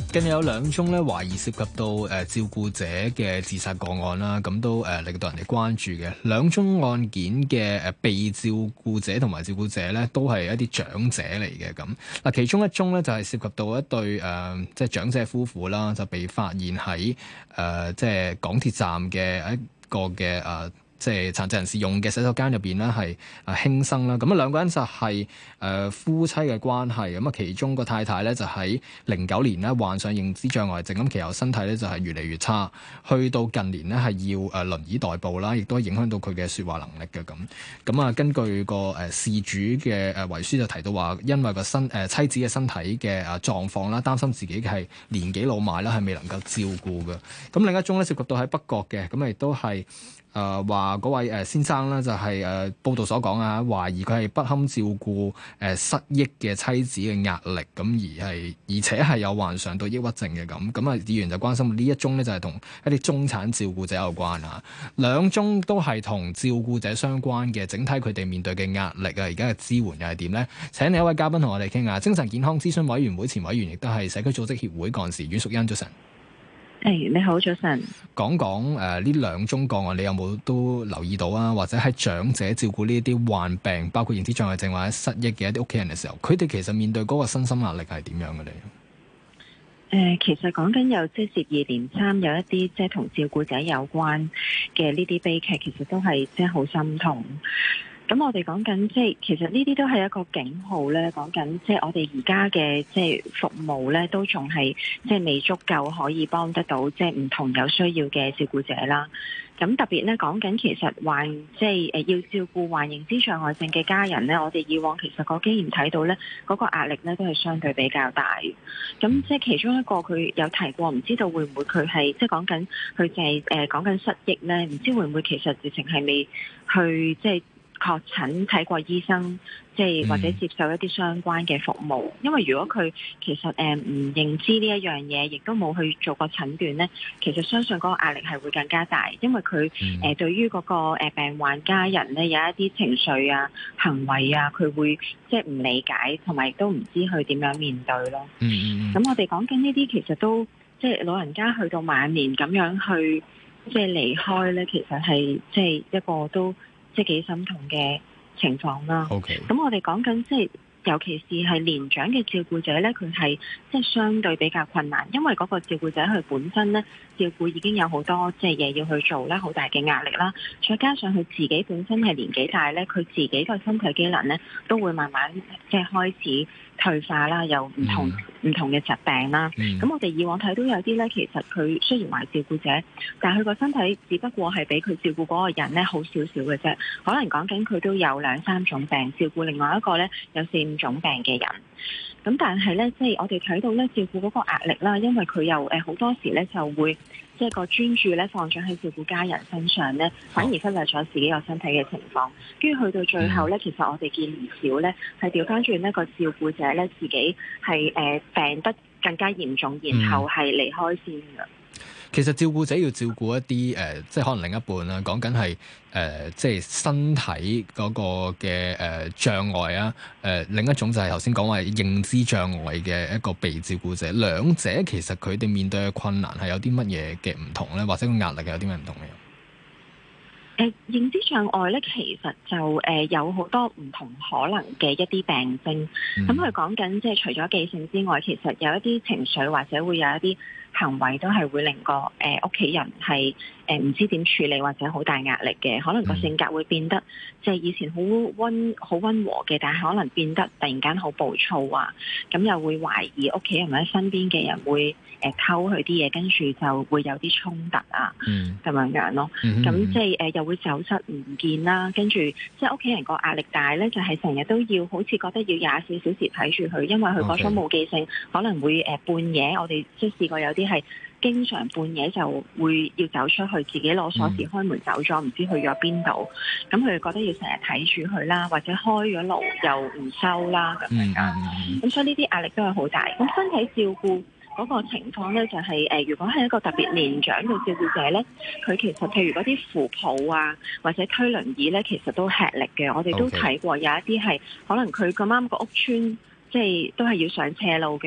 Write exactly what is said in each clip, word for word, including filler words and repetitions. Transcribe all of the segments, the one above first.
近日有兩宗咧懷疑涉及到誒、呃、照顧者嘅自殺個案啦，咁都誒、呃、令到人哋關注嘅。兩宗案件嘅誒被照顧者同埋照顧者咧，都係一啲長者嚟嘅。咁嗱，其中一宗咧就係、是、涉及到一對誒、呃、即係長者夫婦啦，就被發現喺誒、呃、即係港鐵站嘅一個嘅誒。呃即係殘疾人士用嘅洗手間入邊咧，係啊輕生啦。咁啊兩個人就係、是、誒、呃、夫妻嘅關係。咁啊其中個太太咧就喺零九年咧患上認知障礙症，咁其後身體咧就係越嚟越差，去到近年咧係要誒輪椅代步啦，亦都影響到佢嘅説話能力嘅咁。咁啊根據個誒事主嘅誒遺書就提到話，因為個身誒、呃、妻子嘅身體嘅誒狀況啦，擔心自己係年紀老邁啦，係未能夠照顧嘅。咁另一宗咧涉及到喺北角嘅，咁亦都係。誒話嗰位誒先生咧就係、是、誒、呃、報道所講啊，懷疑佢係不堪照顧誒、呃、失憶嘅妻子嘅壓力，咁而係而且係有患上到抑鬱症嘅咁，咁啊議員就關心呢一宗咧就係、是、同一啲中產照顧者有關啊，兩宗都係同照顧者相關嘅，整體佢哋面對嘅壓力啊，而家嘅支援又係點呢？請另一位嘉賓同我哋傾下，精神健康諮詢委員會前委員，亦都係社區組織協會幹事阮淑茵，早晨。 誒，hey, 你好，早晨。 講講誒呢兩宗個案，你有冇都留意到啊？或者喺長者照顧呢一啲患病，包括認知障礙症或者失憶嘅一啲屋企人嘅時候，佢哋其實面對嗰個身心壓力係點樣嘅咧？ 誒、呃，其實講緊有即係接二連三有一啲即係同照顧者有關嘅呢啲悲劇，其實都係即係好心痛。咁我哋講緊即係其實呢啲都係一個警號咧，講緊即係我哋而家嘅即係服務咧，都仲係即係未足夠可以幫得到即係唔同有需要嘅照顧者啦。咁特別咧講緊其實患即係誒要照顧患認知障礙症嘅家人咧，我哋以往其實個經驗睇到咧，嗰個壓力咧都係相對比較大。咁即係其中一個佢有提過，唔知道會唔會佢係即係講緊佢就係誒講緊失憶咧，唔知會唔會其實直情係未去即係確診睇過醫生，即係或者接受一啲相關嘅服務。因為如果佢其實誒唔認知呢一樣嘢，亦都冇去做過診斷咧，其實相信嗰個壓力係會更加大，因為佢誒、呃、對於嗰個誒病患家人咧有一啲情緒啊、行為啊，佢會即係唔理解，同埋亦都唔知去點樣面對咯。嗯嗯。咁我哋講緊呢啲，其實都即係老人家去到晚年咁樣去即係離開咧，其實係即係一個都。即係幾心痛嘅情況啦。OK，咁我哋講緊即係，尤其是係年長嘅照顧者咧，佢係即係相對比較困難，因為嗰個照顧者佢本身咧照顧已經有好多即係嘢要去做咧，好大嘅壓力啦。再加上佢自己本身係年紀大咧，佢自己個身體機能咧都會慢慢即係開始退化啦，有唔同唔、mm. 同嘅疾病啦。咁、mm. 我哋以往睇到有啲咧，其實佢雖然話照顧者，但係佢個身體只不過係比佢照顧嗰個人咧好少少嘅啫。可能講緊佢都有兩三種病，照顧另外一個咧有四五種病嘅人。咁但係咧，即係我哋睇到咧照顧嗰個壓力啦，因為佢又誒好多時咧就會即係個專注咧放咗喺照顧家人身上咧，反而忽略咗自己個身體嘅情況。跟住去到最後咧，其實我哋見唔少咧係調翻轉呢個照顧者咧自己係誒、呃、病得更加嚴重，然後係離開先嘅。 其實照顧者要照顧一啲誒、呃，即係可能另一半啦，講緊係誒，即係身體嗰個嘅誒、呃、障礙啊，誒、呃、另一種就係頭先講話認知障礙嘅一個被照顧者，兩者其實佢哋面對嘅困難係有啲乜嘢嘅唔同咧，或者個壓力係有啲咩唔同嘅？ 誒、呃、認知障礙咧，其實就誒、呃、有好多唔同可能嘅一啲病徵。咁佢講緊即係除咗記性之外，其實有一啲情緒或者會有一啲行為都係會令個誒屋企人係誒唔知點處理或者好大壓力嘅，可能個性格會變得即係以前好溫好溫和嘅，但係可能變得突然間好暴躁啊，咁又會懷疑屋企人或者身邊嘅人會誒偷佢啲嘢，跟住就會有啲衝突啊，咁、嗯、樣樣咯。咁、嗯、即係誒又會走失唔見啦，跟住即係屋企人個壓力大咧，就係成日都要好似覺得要廿四小時睇住佢，因為佢嗰種冇記性，可能會誒半夜我哋即係試過有啲係經常半夜就會要走出去，自己攞鎖匙開門走咗，唔、嗯、知去咗邊度。咁佢哋覺得要成日睇住佢啦，或者開咗爐又唔收啦咁樣。咁、嗯嗯、所以呢啲壓力都係好大。咁身體照顧嗰個情況咧，就係、是、誒、呃，如果係一個特別年長嘅照顧者咧，佢其實譬如嗰啲扶抱啊，或者推輪椅咧，其實都吃力嘅。我哋都睇過有一啲係可能佢咁啱個屋邨，即係都係要上斜路嘅。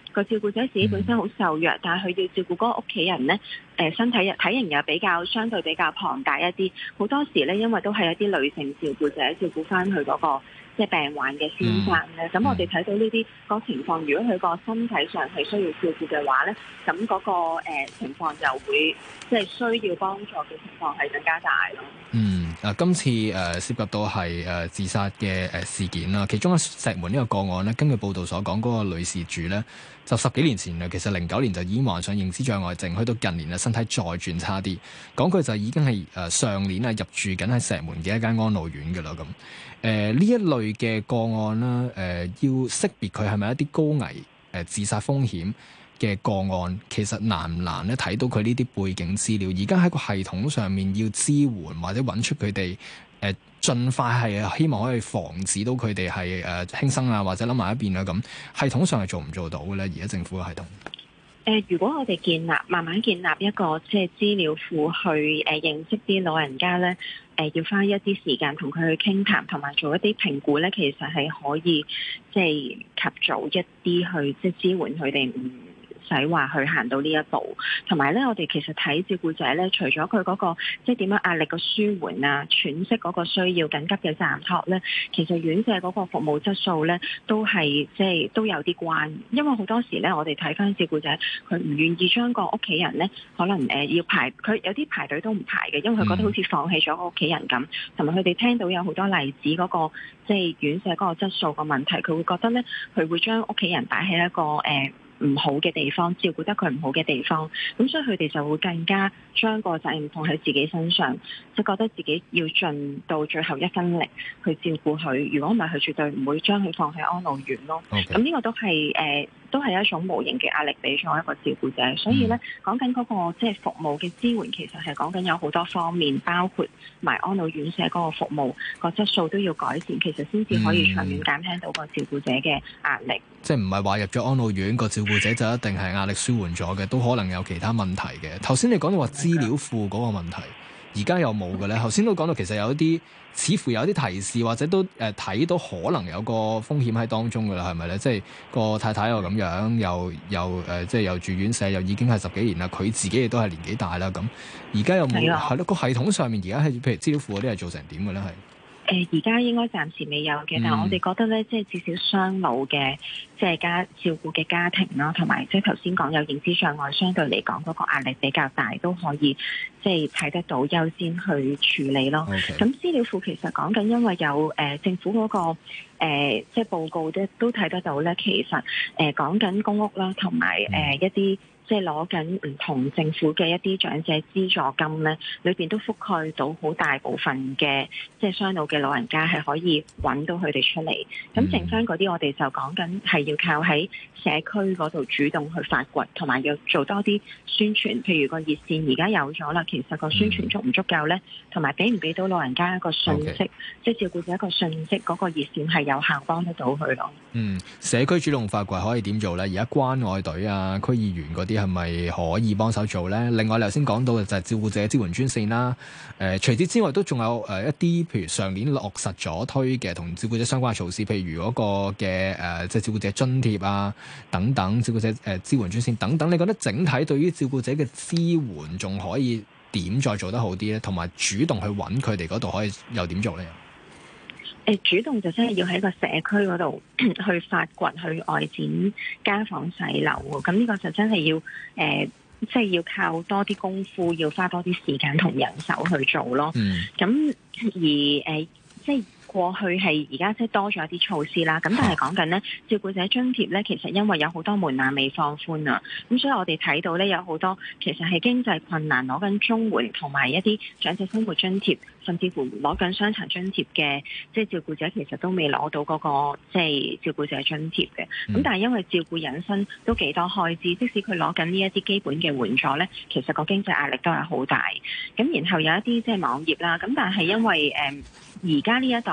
個照顧者自己本身好受弱，嗯、但係佢要照顧嗰個屋企人咧，誒、呃、身體體型又比較相對比較龐大一啲，好多時咧因為都係一啲女性照顧者照顧翻佢嗰個即係病患嘅先生咧。咁、嗯、我哋睇到呢啲個情況，如果佢個身體上係需要照顧嘅話咧，咁嗰、那個、呃、情況就會即係需要幫助嘅情況係更加大咯。 嗯。啊，今次誒、呃、涉及到係誒、呃、自殺嘅誒、呃、事件啦，其中喺石門呢個個案咧，根據報道所講，嗰、那個女事主咧就十幾年前啦，其實零九年就已經患上認知障礙症，去到近年啊身體再轉差啲，講佢就已經係誒、呃、上年啊入住緊喺石門嘅一間安老院㗎啦咁。誒呢一類嘅個案啦，誒、呃、要識別佢係咪一啲高危誒、呃、自殺風險嘅個案，其實難唔難咧？睇到佢呢啲背景資料，而家喺個系統上面要支援或者揾出佢哋誒，盡快係希望可以防止到佢哋係誒輕生啊，或者諗埋一邊啊咁。系統上係做唔做到嘅咧？而家政府嘅系統誒、 呃，如果我哋建立慢慢建立一個即係資料庫去誒、呃、認識啲老人家咧，誒、呃、要花一啲時間同佢去傾談，同埋做一啲評估咧，其實係可以即係及早一啲去即係支援佢哋唔使話去行到呢一步，同埋咧，我哋其實睇照顧者咧，除咗佢嗰個即係點樣壓力嘅舒緩啊、喘息嗰個需要、緊急嘅暫託咧，其實院舍嗰個服務質素咧，都係即係都有啲關。因為好多時咧，我哋睇翻照顧者，佢唔願意將個屋企人咧，可能誒、呃、要排，佢有啲排隊都唔排嘅，因為佢覺得好似放棄咗個屋企人咁。同埋佢哋聽到有好多例子嗰、嗰個即係院舍嗰個質素個問題，佢會覺得咧，佢會將屋企人擺喺一個誒、呃唔好嘅地方，照顧得佢唔好嘅地方，咁所以佢哋就會更加將個責任放喺自己身上，即係覺得自己要盡到最後一分力去照顧佢。如果唔係，佢絕對唔會將佢放喺安老院咯。咁呢 Okay. 個都係誒。呃都係一種無形嘅壓力俾咗一個照顧者，所以咧講緊嗰個即係服務嘅支援，其實係講緊有好多方面，包括埋安老院舍嗰個服務個質素都要改善，其實先至可以長遠減輕到個照顧者嘅壓力。嗯、 即係唔係話入咗安老院個照顧者就一定係壓力舒緩咗嘅，都可能有其他問題嘅。頭先你講到話資料庫嗰個問題，而家有冇嘅咧？頭先都講到其實有一啲。似乎有啲提示，或者都誒睇、呃、到可能有個風險喺當中㗎啦，係咪咧？即係個太太又咁樣，又又誒、呃，即係又住院舍，又已經係十幾年啦。佢自己亦都係年紀大啦。咁而家有冇係咯？個系統上面而家係譬如資料庫嗰啲係做成點嘅咧？係。誒而家應該暫時未有嘅，嗯、但係我哋覺得咧，即係至少雙老嘅即係家照顧嘅家庭啦，同埋即係頭先講有認知障礙，相對嚟講嗰個壓力比較大，都可以即係睇得到優先去處理咯。咁 Okay. 資料庫其實講緊，因為有誒、呃、政府嗰、嗰個、呃、即係報告咧，都睇得到咧。其實誒講緊公屋啦，同埋誒一啲。即係攞緊唔同政府嘅一啲長者資助金咧，裏邊都覆蓋到好大部分嘅即係雙老嘅老人家係可以揾到佢哋出嚟。咁剩翻嗰啲，我哋就講緊係要靠喺社區嗰度主動去發掘，同埋要做多啲宣傳。譬如個熱線而家有咗啦，其實個宣傳足唔足夠咧？同埋俾唔俾到老人家一個訊息，Okay. 即係照顧者一個訊息，嗰、嗰個熱線係有效幫得到佢咯。嗯， 社區主動發掘可以點做咧？而家關愛隊啊、區議員嗰啲係咪可以幫手做咧？另外，你頭先講到嘅就係照顧者支援專線啦。誒、呃，除此之外，都仲有誒一啲，譬如上年落實咗推嘅同照顧者相關嘅措施，譬如嗰個嘅誒、呃，即係照顧者津貼啊，等等，照顧者誒、呃、支援專線等等。你覺得整體對於照顧者嘅支援仲可以點再做得好啲咧？同埋主動去揾佢哋嗰度可以又點做咧？ 誒，主動就真係要喺個社區嗰度去發掘、去外展家訪細樓喎。咁呢個就真係要誒、呃，即係要靠多啲功夫，要花多啲時間同人手去做咯。嗯。咁而誒、呃，即係。過去係而家即係多咗一啲措施啦，咁但係講緊呢，照顧者津貼呢，其實因為有好多門檻未放寬啊，咁所以我哋睇到呢，有好多其實係經濟困難攞緊綜援同埋一啲長者生活津貼，甚至乎攞緊傷殘津貼嘅即係照顧者，其實都未攞到嗰個即係照顧者津貼嘅。咁、嗯、但係因為照顧引申都幾多開支，即使佢攞緊呢一啲基本嘅援助呢，其實個經濟壓力都係好大。咁然後有一啲即係網頁啦，咁但係因為誒而家呢一代。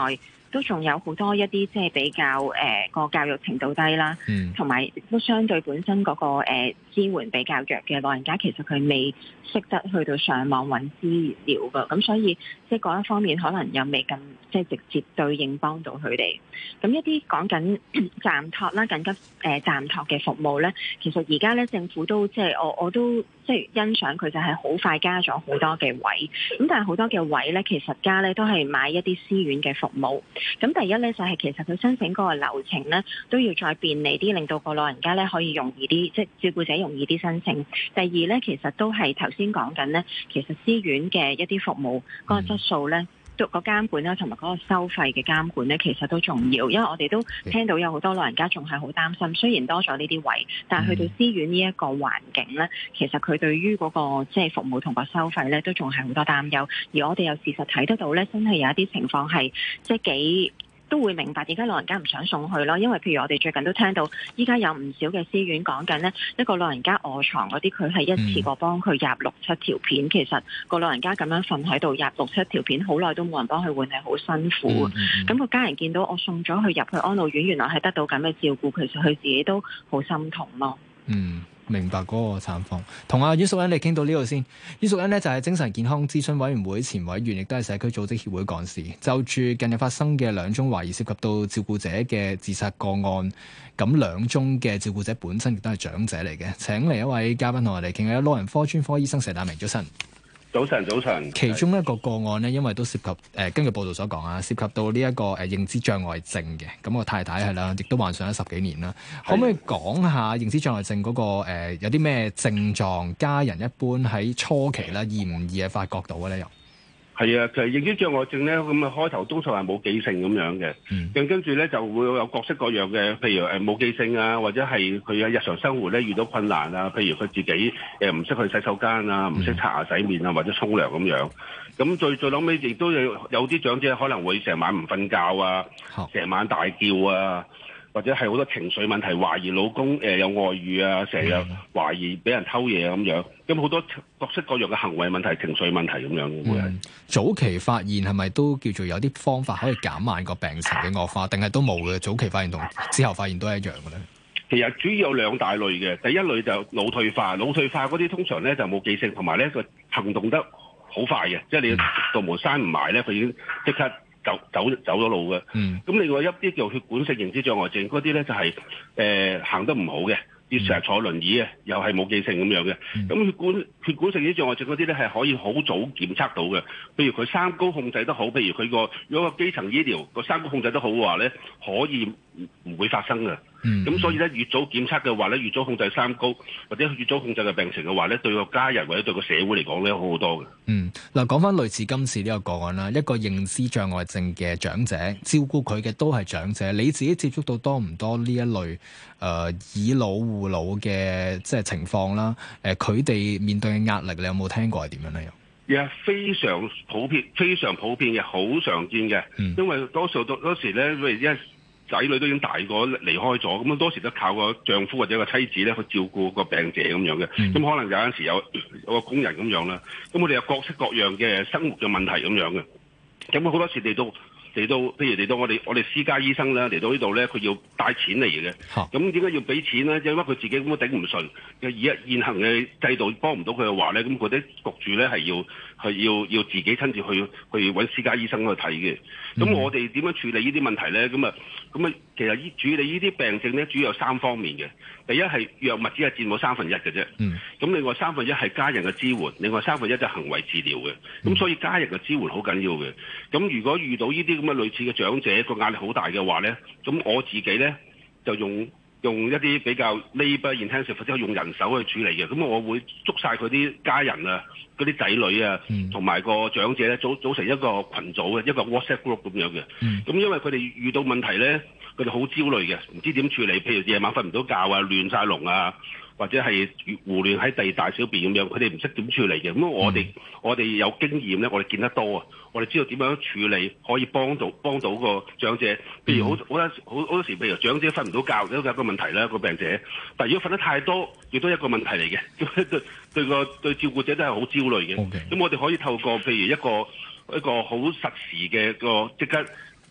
都仲有好多一啲即係比較誒個、呃、教育程度低啦，同埋、嗯、都相對本身嗰、那個、呃、支援比較弱嘅老人家，其實佢未識得去到上網揾資料㗎，咁所以即係嗰一方面可能又未咁即係直接對應幫到佢哋。咁一啲講緊暫託啦、緊急誒暫託嘅服務咧，其實而家咧政府都即係我我都即係欣賞佢就係好快加咗好多嘅位，咁但係好多嘅位咧，其實加咧都係買一啲私院嘅服務。咁第一咧就係、是、其實佢申請嗰個流程咧都要再便利啲，令到個老人家咧可以容易啲，即係照顧者容易啲申請。第二咧，其實都係頭先講緊咧，其實私院嘅一啲服務嗰、嗰個質素咧。個監管啦，同埋嗰個收費嘅監管咧，其實都重要，因為我哋都聽到有好多老人家仲係好擔心，雖然多咗呢啲位，但係去到私院呢一個環境咧，其實佢對於嗰個即係服務同個收費咧，都仲係好多擔憂。而我哋又事實睇得到咧，真係有一啲情況係即係幾。都會明白點解老人家唔想送去咯，因為譬如我哋最近都聽到，依家有唔少嘅私院講緊呢一個老人家臥床嗰啲，佢係一次過幫佢入六七條片，嗯、其實個老人家咁樣瞓喺度入六七條片，好耐都冇人幫佢換，係好辛苦。咁、嗯嗯、個家人見到我送咗佢入去安老院，原來係得到咁嘅照顧，其實佢自己都好心痛咯。 嗯。明白嗰個慘況，同阿阮淑茵你傾到呢度先。阮淑茵呢就係精神健康諮詢委員會前委員，亦都係社區組織協會幹事。就住近日發生嘅兩宗懷疑涉及到照顧者嘅自殺個案，咁兩宗嘅照顧者本身亦都係長者嚟嘅。請嚟一位嘉賓同我哋傾下，老人科專科醫生佘達明，早晨。 早晨，早晨。 其中一個個案呢，因為都涉及誒、呃，根據報道所講啊，涉及到呢、這、一個誒、呃、認知障礙症嘅。咁我太太係啦，亦都患上咗十幾年啦。可唔可以講下認知障礙症嗰、那個誒、呃、有啲咩症狀？家人一般喺初期咧易唔易係發覺到嘅咧？又係啊，其實認知障礙症咧，咁啊開頭多數係冇記性咁樣嘅，咁、嗯、跟住咧就會有各式各樣嘅，譬如誒冇記性啊，或者係佢喺日常生活咧遇到困難啊，譬如佢自己誒唔識去洗手間啊，唔識刷牙洗面啊，或者沖涼咁樣。咁最最後尾亦都有有啲長者可能會成晚唔瞓覺啊，成晚大叫啊。或者係好多情緒問題，懷疑老公誒、呃、有外遇啊，成日懷疑俾人偷嘢咁樣，咁好多各式各樣嘅行為問題、情緒問題咁樣會係、嗯。早期發現係咪都叫做有啲方法可以減慢個病情嘅惡化，定係都冇嘅？早期發現同之後發現都係一樣嘅咧。 其實主要有兩大類嘅，第一類就腦退化，腦退化嗰啲通常咧就冇記性，同埋咧個行動得好快嘅，即係你道門閂唔埋咧，佢已經即刻。走走走咗路嘅，咁、嗯、另外一啲叫血管性認知障礙症嗰啲咧就係、是、誒、呃、行得唔好嘅，要成日坐輪椅嘅，又係冇記性咁樣嘅。咁、嗯、血管血管性認知障礙症嗰啲咧係可以好早檢測到嘅，譬如佢三高控制得好，譬如佢個如果個基層醫療個三高控制得好嘅話咧，可以唔會發生嘅。咁、嗯、所以咧，越早檢測嘅話咧，越早控制三高，或者越早控制嘅病情嘅話咧，對個家人或者對個社會嚟講咧，好好多嘅。嗯， 嗱，講翻類似今次呢個個案啦，一個認知障礙症嘅長者，照顧佢嘅都係長者，你自己接觸到多唔多呢一類誒、呃、以老護老嘅即係情況啦？誒、呃，佢哋面對嘅壓力，你有冇聽過係點樣咧？ 又係非常普遍，非常普遍嘅，好常見嘅。嗯、因為多數多多時咧，因為一仔女都已經大個離開咗，咁啊多時都靠個丈夫或者個妻子咧去照顧個病者咁樣嘅，咁、嗯、可能有陣時有有個工人咁樣啦，咁我哋有各式各樣嘅生活嘅問題咁樣嘅，咁好多時嚟到嚟到，譬如嚟到我哋我哋私家醫生咧嚟到呢度咧，佢要帶錢嚟嘅，咁點解要俾錢咧？因為佢自己咁都頂唔順，而家現行嘅制度幫唔到佢嘅話咧，咁佢哋焗住咧係要係要要自己親自去去揾私家醫生去睇嘅。咁、嗯、我哋點樣處理呢啲問題咧？咁啊，咁啊，其實依處理呢啲病症咧，主要有三方面嘅。第一係藥物只係佔到三分一嘅啫。咁、嗯、另外三分一係家人嘅支援，另外三分一就係行為治療嘅。咁、嗯、所以家人嘅支援好緊要嘅。咁如果遇到呢啲咁嘅類似嘅長者，個壓力好大嘅話咧，咁我自己咧就用用一啲比較 labour intensive 或者用人手去處理嘅。咁我會捉晒佢啲家人啊，嗰啲仔女啊，同埋、嗯、個長者咧組組成一個群組嘅一個 WhatsApp group 咁樣嘅。咁、嗯、因為佢哋遇到問題咧，佢哋好焦慮嘅，唔知點處理。譬如夜晚瞓唔到覺啊，亂晒龍啊，或者係胡亂喺地大小便咁樣，佢哋唔識點處理嘅。咁我哋、嗯、我哋有經驗咧，我哋見得多啊，我哋知道點樣處理可以幫到幫到個長者。譬如好好多好好多時，譬如長者瞓唔到覺都有一個問題啦，個病者。但係如果瞓得太多，亦都一個問題嚟嘅。對對個對照顧者都係好焦慮嘅。咁 Okay. 我哋可以透過譬如一個一個好實時嘅個即刻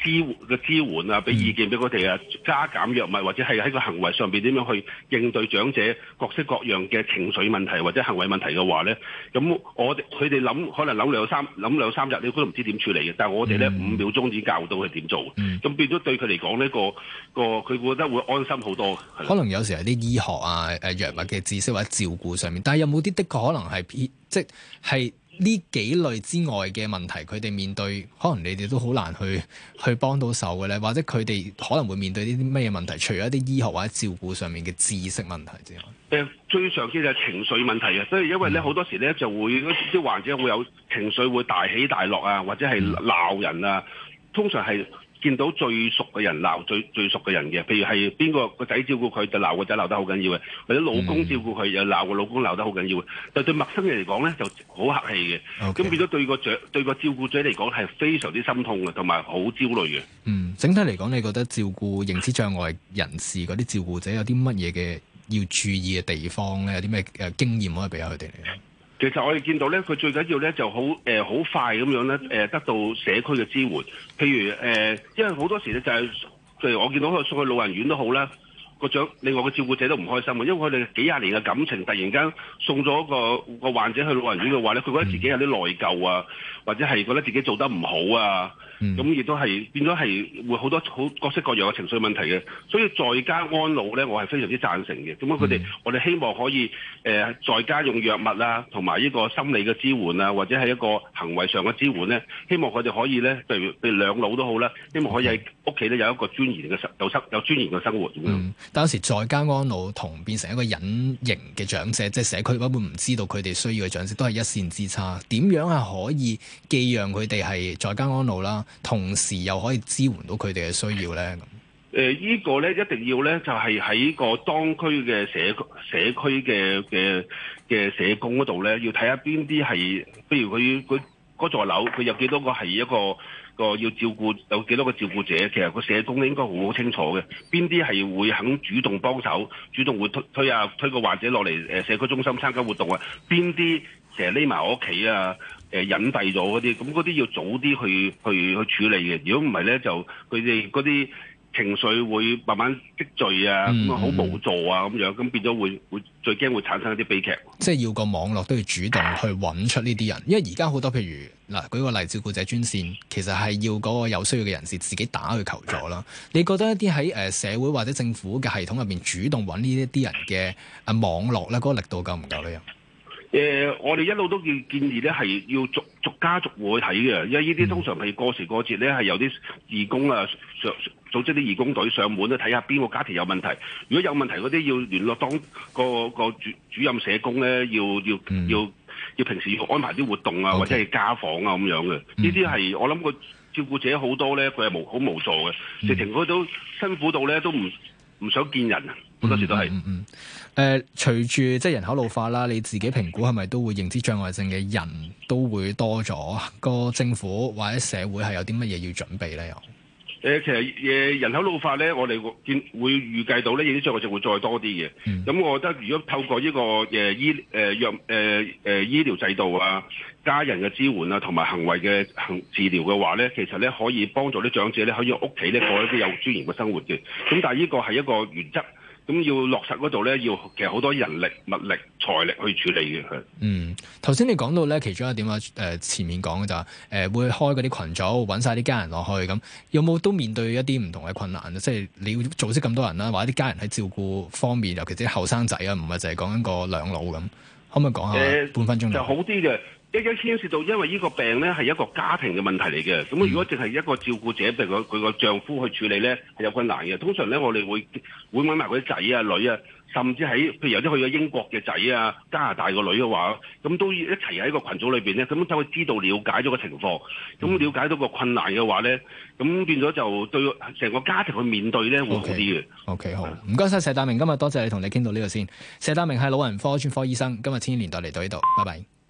支嘅支援啊，俾意見俾佢哋啊，加減藥物或者係喺個行為上邊點樣去應對長者各式各樣嘅情緒問題或者行為問題嘅話咧，咁我哋佢哋諗可能諗兩三諗兩三日，你都唔知點處理嘅。但係我哋咧、嗯、五秒鐘已經教到佢點做，咁、嗯、變咗對佢嚟講呢個個佢覺得會安心好多。 可能有時係啲醫學啊、誒藥物嘅知識或者照顧上面，但係有冇啲的確可能係即係呢幾類之外嘅問題，佢哋面對可能你哋都好難去去幫到手嘅咧，或者佢哋可能會面對呢啲咩問題？除咗一啲醫學或者照顧上面嘅知識問題之外， 誒最常見就係情緒問題啊！所以因為咧好、嗯、多時咧就會啲患者會有情緒會大起大落啊，或者係鬧人啊，通常係見到最熟嘅人鬧最最熟嘅人嘅，譬如係邊個個仔照顧佢就鬧個仔鬧得好緊要嘅，或者老公照顧佢又鬧個老公鬧得好緊要嘅。但對陌生人嚟講咧就好客氣嘅，咁、okay. 變咗對個長對個照顧者嚟講係非常之心痛嘅，同埋好焦慮嘅。 嗯，整體嚟講，你覺得照顧認知障礙人士嗰啲照顧者有啲乜嘢嘅要注意嘅地方咧？有啲咩誒經驗可以俾下佢哋嚟咧？ 其實我哋見到咧，佢最緊要咧就好誒好快咁樣咧誒得到社區嘅支援。譬如誒、呃，因為好多時咧就係、是，譬如我見到佢送去老人院都好啦，個長另外個照顧者都唔開心嘅，因為佢哋幾廿年嘅感情突然間送咗個個患者去老人院嘅話咧，佢覺得自己有啲內疚啊，或者係覺得自己做得唔好啊。咁亦、嗯、都係變咗係會好多好各式各樣嘅情緒問題嘅，所以在家安老咧，我係非常之贊成嘅。咁樣佢哋，我哋希望可以誒、呃、在家用藥物啊，同埋呢個心理嘅支援啊，或者係一個行為上嘅支援咧，希望佢哋可以咧，譬如譬如兩老都好啦，希望可以喺屋企咧有一個尊嚴嘅生有生有尊嚴嘅生活咁樣。 嗯，但有時在家安老同變成一個隱形嘅長者，即係社區根本唔知道佢哋需要嘅長者，都係一線之差。點樣係可以既讓佢哋係在家安老啦，同時又可以支援到佢哋嘅需要咧？咁、 呃、誒，依個咧一定要咧，就係、是、喺個當區嘅社社區嘅嘅嘅社工嗰度咧，要睇下邊啲係，譬如佢佢嗰座樓，佢有幾多個係一個個要照顧，有幾多個照顧者，其實個社工咧應該好好清楚嘅，邊啲係會肯主動幫手，主動會推推啊推個患者落嚟誒社區中心參加活動啊，邊啲成日匿埋我屋企啊？誒隱蔽咗嗰啲，咁嗰啲要早啲去去去處理嘅。如果唔係咧，就佢哋嗰啲情緒會慢慢積聚啊，咁啊好無助啊咁樣，咁變咗會會最驚會產生一啲悲劇。 即係要個網絡都要主動去揾出呢啲人，因為而家好多譬如嗱，舉個例，照顧者專線其實係要嗰個有需要嘅人士自己打去求助啦。你覺得一啲喺誒社會或者政府嘅系統入邊主動揾呢一啲人嘅誒網絡咧，嗰個力度夠唔夠咧？ 誒、呃，我哋一路都建建議咧，係要逐逐家逐戶去睇嘅，因為呢啲通常係過時過節咧，係有啲義工啊上組織啲義工隊上門咧睇下邊個家庭有問題。如果有問題嗰啲，要聯絡當個個主主任社工咧，要要、嗯、要要平時要安排啲活動啊，okay. 或者係家訪啊咁樣嘅。呢啲係我諗個照顧者好多咧，佢係無好無助嘅，直情佢都辛苦到咧都唔唔想見人啊！好多時都係。嗯嗯。誒、呃，隨住即係人口老化啦，你自己評估係咪都會認知障礙症嘅人都會多咗？個政府或者社會係有啲乜嘢要準備咧？又？誒，其實誒人口老化咧，我哋見會預計到咧，認知障礙症會再多啲嘅。咁、嗯、我覺得如果透過呢、這個誒、呃、醫誒藥誒誒醫療制度啊、家人嘅支援啊，同埋行為嘅行治療嘅話咧，其實咧可以幫助啲長者咧，可以喺屋企咧過一啲有尊嚴嘅生活嘅。咁但係呢個係一個原則。咁要落實嗰度咧，要其實好多人力、物力、財力去處理嘅。嗯，頭先你講到咧，其中一點啊，誒、呃、前面講嘅就係、是、誒、呃、會開嗰啲群組，揾晒啲家人落去咁，有冇都面對一啲唔同嘅困難？即係你要組織咁多人啦，或者啲家人喺照顧方面，尤其是後生仔啊，唔係就係講緊個兩老咁，可唔可以講下、呃、半分鐘就好啲嘅？一一牽涉到，因為呢個病咧係一個家庭嘅問題嚟嘅。咁如果淨係一個照顧者，譬如佢佢個丈夫去處理咧，係有困難嘅。通常咧，我哋會會揾埋佢啲仔啊、女啊，甚至喺譬如有啲去咗英國嘅仔啊、加拿大個女嘅話，咁都一齊喺個群組裏邊咧，咁就會知道了解咗個情況，咁了解到個困難嘅話咧，咁變咗就對成個家庭去面對咧會好啲嘅。O K，好，唔該晒佘達明，今日多謝你同你傾到呢度先。佘達明係老人科專科醫生，今日千禧年代嚟到呢度，拜拜。